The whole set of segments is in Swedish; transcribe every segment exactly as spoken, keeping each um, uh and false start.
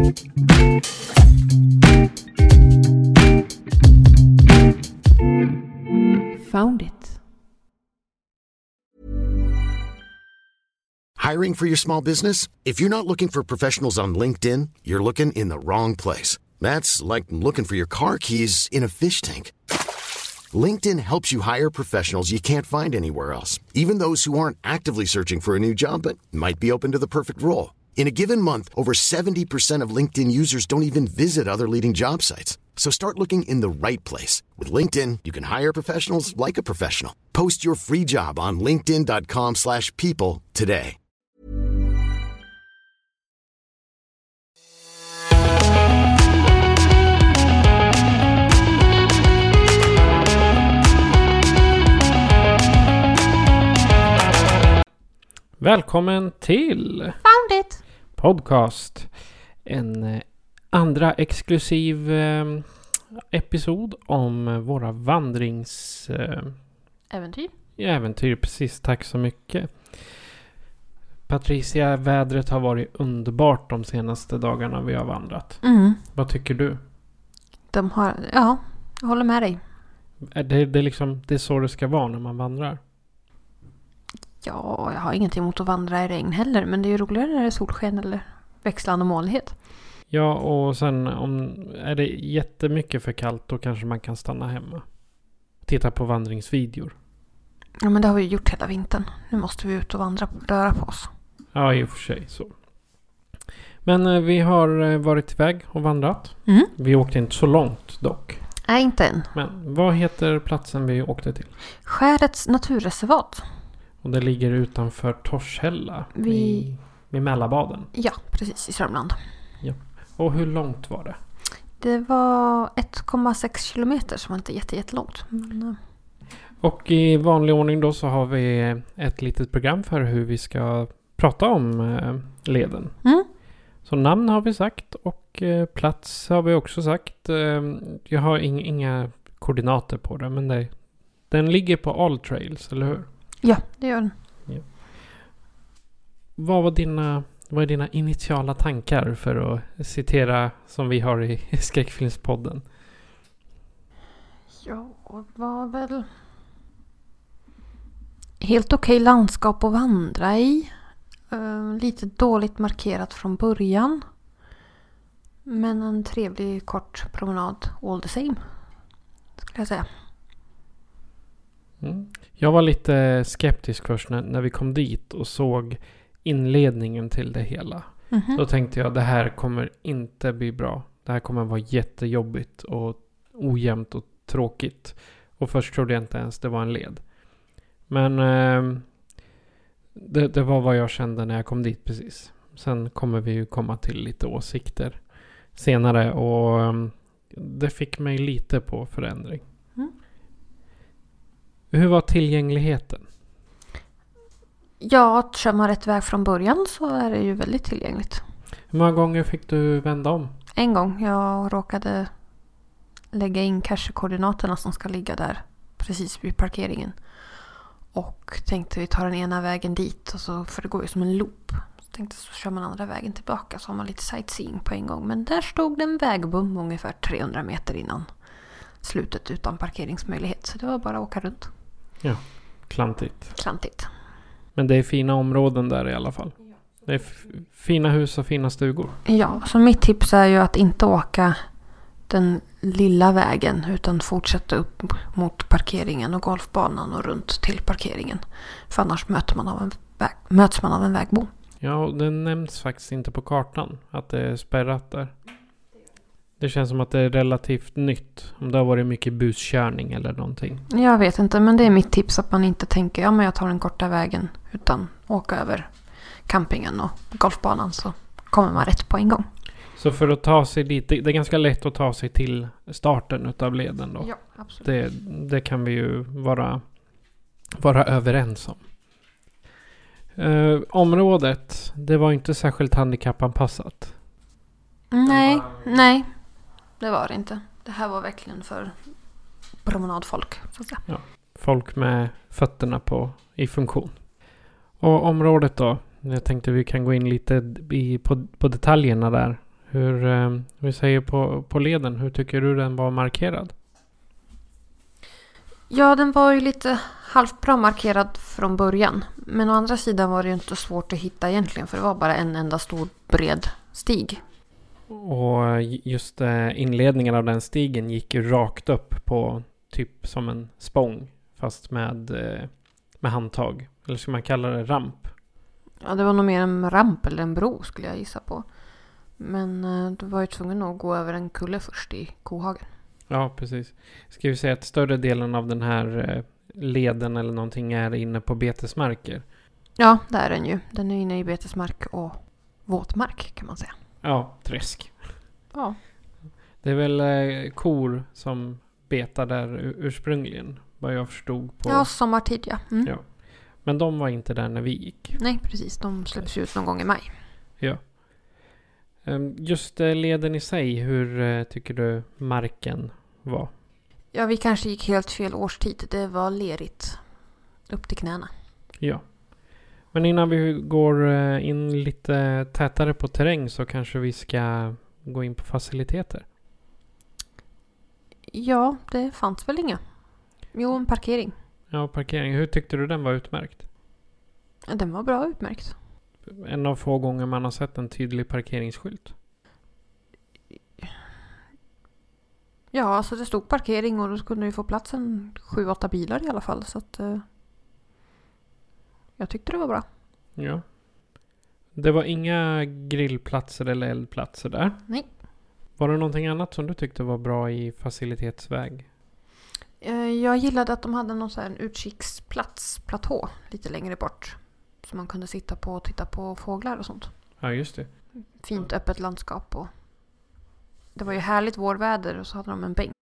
Found it. Hiring for your small business? If you're not looking for professionals on LinkedIn, you're looking in the wrong place. That's like looking for your car keys in a fish tank. LinkedIn helps you hire professionals you can't find anywhere else, even those who aren't actively searching for a new job but might be open to the perfect role. In a given month, over seventy percent of LinkedIn users don't even visit other leading job sites. So start looking in the right place. With LinkedIn, you can hire professionals like a professional. Post your free job on linkedin dot com slash people today. Välkommen till Found it. Podcast. En eh, andra exklusiv eh, episod om våra vandrings... Eh, Äventyr. äventyr, precis. Tack så mycket. Patricia, vädret har varit underbart de senaste dagarna vi har vandrat. Mm. Vad tycker du? De har, ja, jag håller med dig. Är det, det, är liksom, det är så det ska vara när man vandrar? Ja, jag har ingenting emot att vandra i regn heller. Men det är ju roligare när det är solsken eller växlande molnighet. Ja, och sen om är det jättemycket för kallt då kanske man kan stanna hemma. Titta på vandringsvideor. Ja, men det har vi gjort hela vintern. Nu måste vi ut och vandra och röra på oss. Ja, i och för sig så. Men eh, vi har eh, varit iväg och vandrat. Mm. Vi åkte inte så långt dock. Nej, inte än. Men vad heter platsen vi åkte till? Skärets naturreservat. Och det ligger utanför Torshälla. Vi... I, i Mälarbaden. Ja, precis i Sörmland. Ja. Och hur långt var det? Det var ett komma sex kilometer som var inte jätte, jättelångt. Men... Och i vanlig ordning då så har vi ett litet program för hur vi ska prata om eh, leden. Mm. Så namn har vi sagt och eh, plats har vi också sagt. Eh, jag har ing- inga koordinater på det, men det, den ligger på All Trails, eller hur? Ja, det gör den. Ja. Vad var dina, vad är dina initiala tankar för att citera som vi har i skräckfilmspodden? Ja, det var väl helt okej landskap att vandra i. Uh, lite dåligt markerat från början. Men en trevlig kort promenad all the same, skulle jag säga. Mm. Jag var lite skeptisk först när, när vi kom dit och såg inledningen till det hela. Mm-hmm. Då tänkte jag det här kommer inte bli bra. Det här kommer vara jättejobbigt och ojämnt och tråkigt. Och först trodde jag inte ens det var en led. Men eh, det, det var vad jag kände när jag kom dit precis. Sen kommer vi ju komma till lite åsikter senare. Och eh, det fick mig lite på förändring. Mm. Hur var tillgängligheten? Ja, kör man rätt väg från början så är det ju väldigt tillgängligt. Hur många gånger fick du vända om? En gång. Jag råkade lägga in cache-koordinaterna som ska ligga där precis vid parkeringen. Och tänkte vi tar den ena vägen dit. Och så, för det går ju som en loop. Så tänkte så kör man andra vägen tillbaka. Så har man lite sightseeing på en gång. Men där stod det en vägbom ungefär trehundra meter innan slutet utan parkeringsmöjlighet. Så det var bara att åka runt. Ja, klantigt. Klantigt. Men det är fina områden där i alla fall. Det är f- fina hus och fina stugor. Ja, så mitt tips är ju att inte åka den lilla vägen utan fortsätta upp mot parkeringen och golfbanan och runt till parkeringen. För annars möter man av en väg, möts man av en vägbom. Ja, och det nämns faktiskt inte på kartan att det är spärrat där. Det känns som att det är relativt nytt. Om det har varit mycket buskörning eller någonting. Jag vet inte, men det är mitt tips att man inte tänker ja men jag tar den korta vägen utan åka över campingen och golfbanan så kommer man rätt på en gång. Så för att ta sig dit, det är ganska lätt att ta sig till starten utav leden då. Ja, absolut. Det, det kan vi ju vara, vara överens om. Uh, området, det var inte särskilt handikappanpassat. Nej, nej. Det var det inte. Det här var verkligen för promenadfolk, så att säga. Ja, folk med fötterna på, i funktion. Och området då? Jag tänkte vi kan gå in lite i, på, på detaljerna där. Hur, eh, vi säger på, på leden, hur tycker du den var markerad? Ja, den var ju lite halvt bra markerad från början. Men å andra sidan var det ju inte svårt att hitta egentligen. För det var bara en enda stor bred stig. Och just eh, inledningen av den stigen gick ju rakt upp på typ som en spång. Fast med, eh, med handtag. Eller ska man kalla det ramp? Ja, det var nog mer en ramp eller en bro skulle jag gissa på. Men eh, du var ju tvungen att gå över en kulle först i kohagen. Ja, precis. Ska vi säga att större delen av den här eh, leden eller någonting är inne på betesmarker? Ja, det är den ju. Den är inne i betesmark och våtmark kan man säga. Ja, träsk. Ja. Det är väl eh, kor som betar där ursprungligen, vad jag förstod på. Ja, sommartid ja. Mm. Ja. Men de var inte där när vi gick. Nej, precis. De släpps ut någon gång i maj. Ja. Just leden i sig, hur tycker du marken var? Ja, vi kanske gick helt fel årstid. Det var lerigt upp till knäna. Ja. Men innan vi går in lite tätare på terräng så kanske vi ska gå in på faciliteter. Ja, det fanns väl inga. Jo, en parkering. Ja, parkering. Hur tyckte du den var utmärkt? Ja, den var bra utmärkt. En av få gånger man har sett en tydlig parkeringsskylt. Ja, alltså det stod parkering och då skulle du få plats en sju åtta bilar i alla fall. Så att eh, jag tyckte det var bra. Ja. Det var inga grillplatser eller eldplatser där. Nej. Var det någonting annat som du tyckte var bra i facilitetsväg? Eh, jag gillade att de hade någon sån här en utkiksplats, platå, lite längre bort. Så man kunde sitta på och titta på fåglar och sånt. Ja, just det. Fint öppet landskap och det var ju härligt vårväder och så hade de en bänk.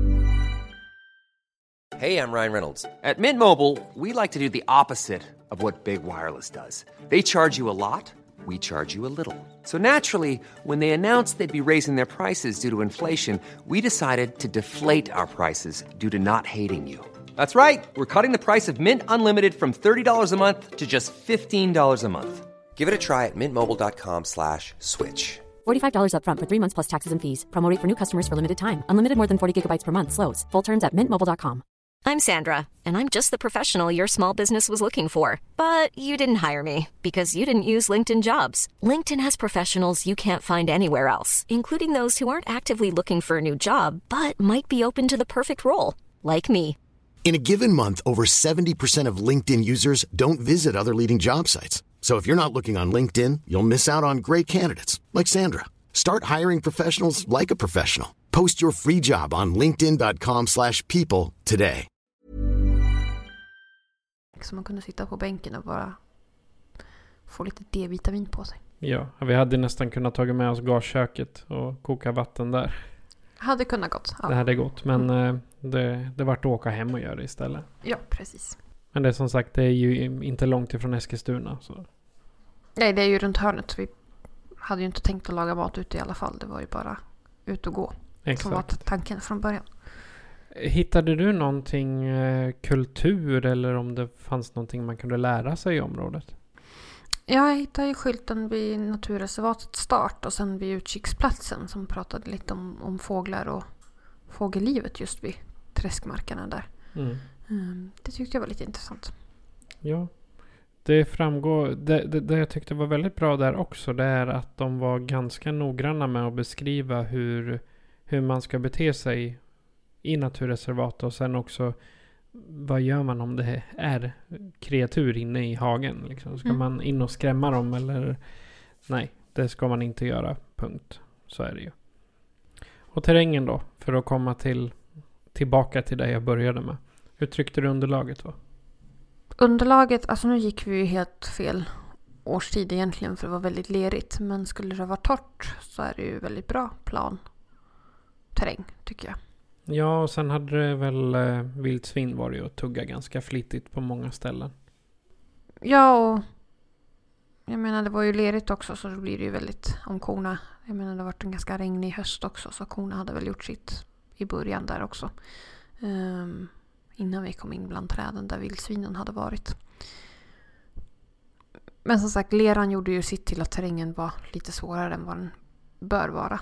Hey, I'm Ryan Reynolds. At Mint Mobile, we like to do the opposite of what Big Wireless does. They charge you a lot, we charge you a little. So naturally, when they announced they'd be raising their prices due to inflation, we decided to deflate our prices due to not hating you. That's right. We're cutting the price of Mint Unlimited from thirty dollars a month to just fifteen dollars a month. Give it a try at mintmobile.com slash switch. forty-five dollars up front for three months plus taxes and fees. Promo rate for new customers for limited time. Unlimited more than forty gigabytes per month slows. Full terms at mint mobile dot com. I'm Sandra, and I'm just the professional your small business was looking for. But you didn't hire me because you didn't use LinkedIn Jobs. LinkedIn has professionals you can't find anywhere else, including those who aren't actively looking for a new job, but might be open to the perfect role, like me. In a given month, over seventy percent of LinkedIn users don't visit other leading job sites. So if you're not looking on LinkedIn, you'll miss out on great candidates like Sandra. Start hiring professionals like a professional. Post your free job on linkedin dot com slash people today. Så man kunde sitta på bänken och bara få lite D-vitamin på sig. Ja, vi hade nästan kunnat ta med oss gasköket och koka vatten där. Hade kunnat gått. Ja. Det hade gått, men mm. det, det vart att åka hem och göra det istället. Ja, precis. Men det är som sagt, det är ju inte långt ifrån Eskilstuna. Så. Nej, det är ju runt hörnet. Vi hade ju inte tänkt att laga mat ute i alla fall. Det var ju bara ut och gå. Exakt. Som var tanken från början. Hittade du någonting eh, kultur eller om det fanns någonting man kunde lära sig i området? Ja, jag hittade ju skylten vid naturreservatets start och sen vid utkiksplatsen som pratade lite om, om fåglar och fågellivet just vid träskmarkerna där. Mm. Mm, det tyckte jag var lite intressant. Ja, det framgår. Det, det, det jag tyckte var väldigt bra där också, det är att de var ganska noggranna med att beskriva hur, hur man ska bete sig i naturreservat och sen också vad gör man om det är kreatur inne i hagen liksom? Ska mm. man in och skrämma dem eller nej, det ska man inte göra, punkt. Så är det ju. Och terrängen då, för att komma till tillbaka till det jag började med. Hur tyckte du underlaget var? Underlaget, alltså nu gick vi ju helt fel årstid egentligen för det var väldigt lerigt, men skulle det vara torrt så är det ju väldigt bra plan terräng tycker jag. Ja, och sen hade det väl eh, vildsvin var det ju att tugga ganska flitigt på många ställen. Ja, och jag menar det var ju lerigt också så då blir det ju väldigt om korna. Jag menar det har varit en ganska regnig höst också så korna hade väl gjort sitt i början där också. Um, innan vi kom in bland träden där vildsvinen hade varit. Men som sagt, leran gjorde ju sitt till att terrängen var lite svårare än vad den bör vara.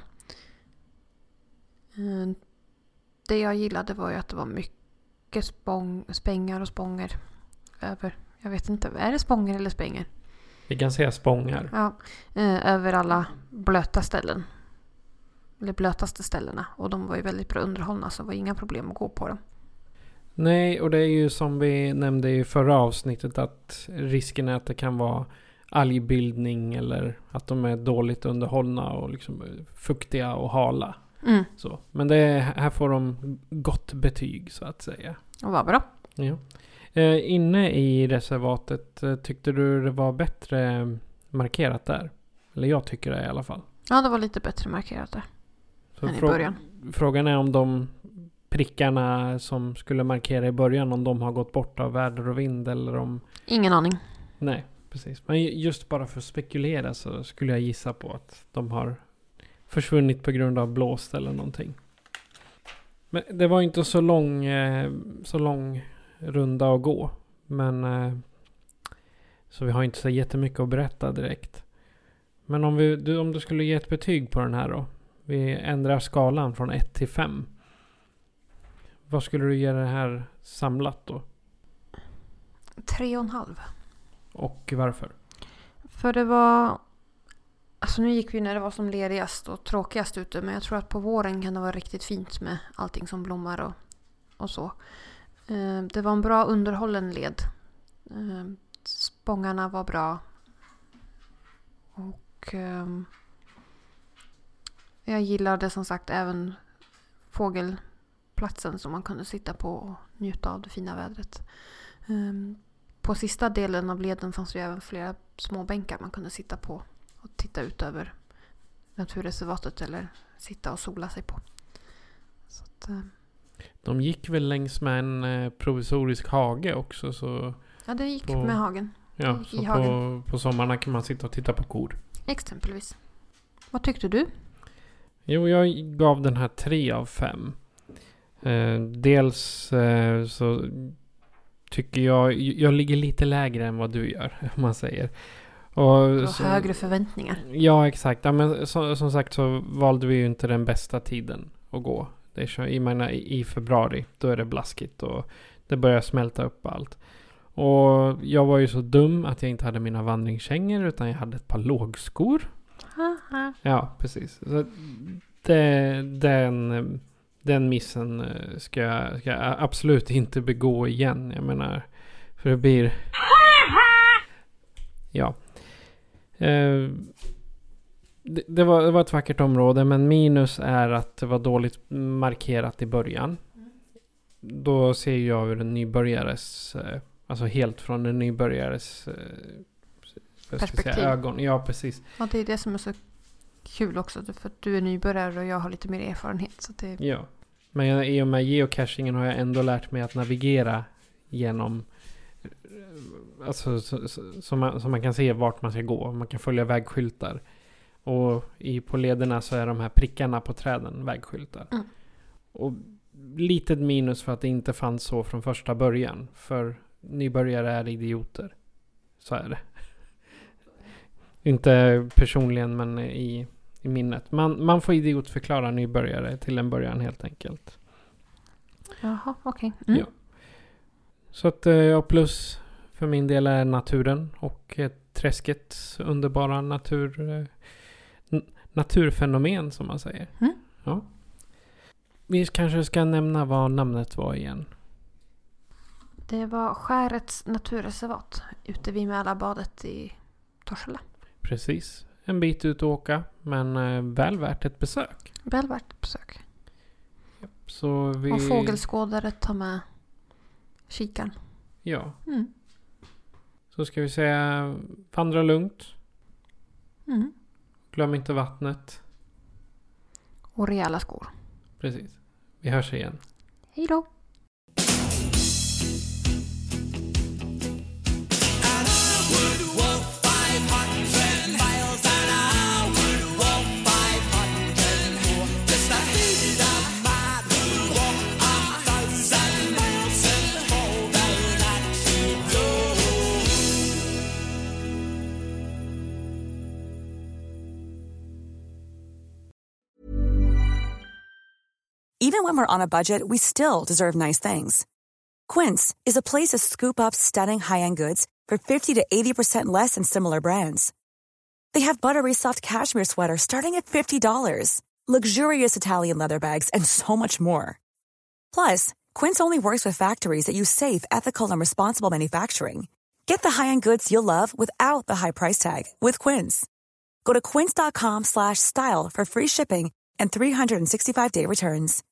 Det jag gillade var ju att det var mycket spång, spängar och spånger över. Jag vet inte, är det spånger eller spänger? Vi kan säga spångar. Ja, över alla blöta ställen. Eller blötaste ställena. Och de var ju väldigt bra underhållna, så det var inga problem att gå på dem. Nej, och det är ju som vi nämnde i förra avsnittet att risken är att det kan vara algbildning eller att de är dåligt underhållna och liksom fuktiga och hala. Mm. Så. Men det är, här får de gott betyg så att säga. Och vad bra. Ja. Eh, inne i reservatet, eh, tyckte du det var bättre markerat där? Eller jag tycker det i alla fall. Ja, det var lite bättre markerat där. Så än i frå- början. Frågan är om de prickarna som skulle markera i början, om de har gått bort av väder och vind eller om... Ingen aning. Nej, precis. Men just bara för att spekulera så skulle jag gissa på att de har försvunnit på grund av blåst eller någonting. Men det var inte så lång, eh, så lång runda att gå. Men eh, så vi har inte så jättemycket att berätta direkt. Men om, vi, du, om du skulle ge ett betyg på den här då. Vi ändrar skalan från ett till fem. Vad skulle du ge det här samlat då? Tre och en halv. Och varför? För det var... Alltså nu gick vi när det var som ledigast och tråkigast ute. Men jag tror att på våren kan det vara riktigt fint med allting som blommar och, och så. Eh, det var en bra underhållen led. Eh, spångarna var bra. Och eh, jag gillade som sagt även fågelplatsen som man kunde sitta på och njuta av det fina vädret. Eh, på sista delen av leden fanns det även flera små bänkar man kunde sitta på och titta ut över naturreservatet eller sitta och sola sig på. Så att, eh. De gick väl längs med en eh, provisorisk hage också. Så ja, det gick på, med hagen. Ja, gick så i på, hagen. på sommarna kan man sitta och titta på kor. Exempelvis. Vad tyckte du? Jo, jag gav den här tre av fem. Eh, dels eh, så tycker jag, jag ligger lite lägre än vad du gör, om man säger. Och, Och så, högre förväntningar. Ja, exakt. Ja, men så, som sagt så valde vi ju inte den bästa tiden att gå. Det är så, jag menar, i, i februari, då är det blaskigt och det börjar smälta upp allt. Och jag var ju så dum att jag inte hade mina vandringskängor utan jag hade ett par lågskor. Haha. Ja, precis. Så det, den, den missen ska jag, ska jag absolut inte begå igen. Jag menar, för det blir... Ja. Eh, det, det, var, det var ett vackert område, men minus är att det var dåligt markerat i början. Då ser jag ur en nybörjares... Eh, alltså helt från en nybörjares eh, Perspektiv. Säga, ögon. Ja, precis. Ja, det är det som är så kul också. För att du är nybörjare och jag har lite mer erfarenhet. Så det... Ja. Men jag, i och med geocachingen har jag ändå lärt mig att navigera genom... Alltså så, så, så, man, så man kan se vart man ska gå. Man kan följa vägskyltar. Och i, på lederna så är de här prickarna på träden vägskyltar. Mm. Och litet minus för att det inte fanns så från första början. För nybörjare är idioter. Så är det. Inte personligen, men i, i minnet. Man, man får idiotförklara nybörjare till en början helt enkelt. Jaha, okej. Okay. Mm. Ja. Så att ja, plus för min del är naturen och träskets underbara natur, n- naturfenomen som man säger. Mm. Ja. Vi kanske ska nämna vad namnet var igen. Det var Skärets naturreservat ute vid Mälarbadet i Torshälla. Precis. En bit ut att åka, men eh, väl värt ett besök. Väl värt ett besök. Ja, så vi... Och fågelskådare tar med kikaren. Ja. Mm. Så ska vi säga vandra lugnt. Mm. Glöm inte vattnet. Och rejäla skor. Precis. Vi hörs igen. Hej då! Even when we're on a budget, we still deserve nice things. Quince is a place to scoop up stunning high-end goods for fifty to eighty percent less than similar brands. They have buttery soft cashmere sweaters starting at fifty dollars, luxurious Italian leather bags, and so much more. Plus, Quince only works with factories that use safe, ethical, and responsible manufacturing. Get the high-end goods you'll love without the high price tag with Quince. Go to quince.com slash style for free shipping and three hundred sixty-five day returns.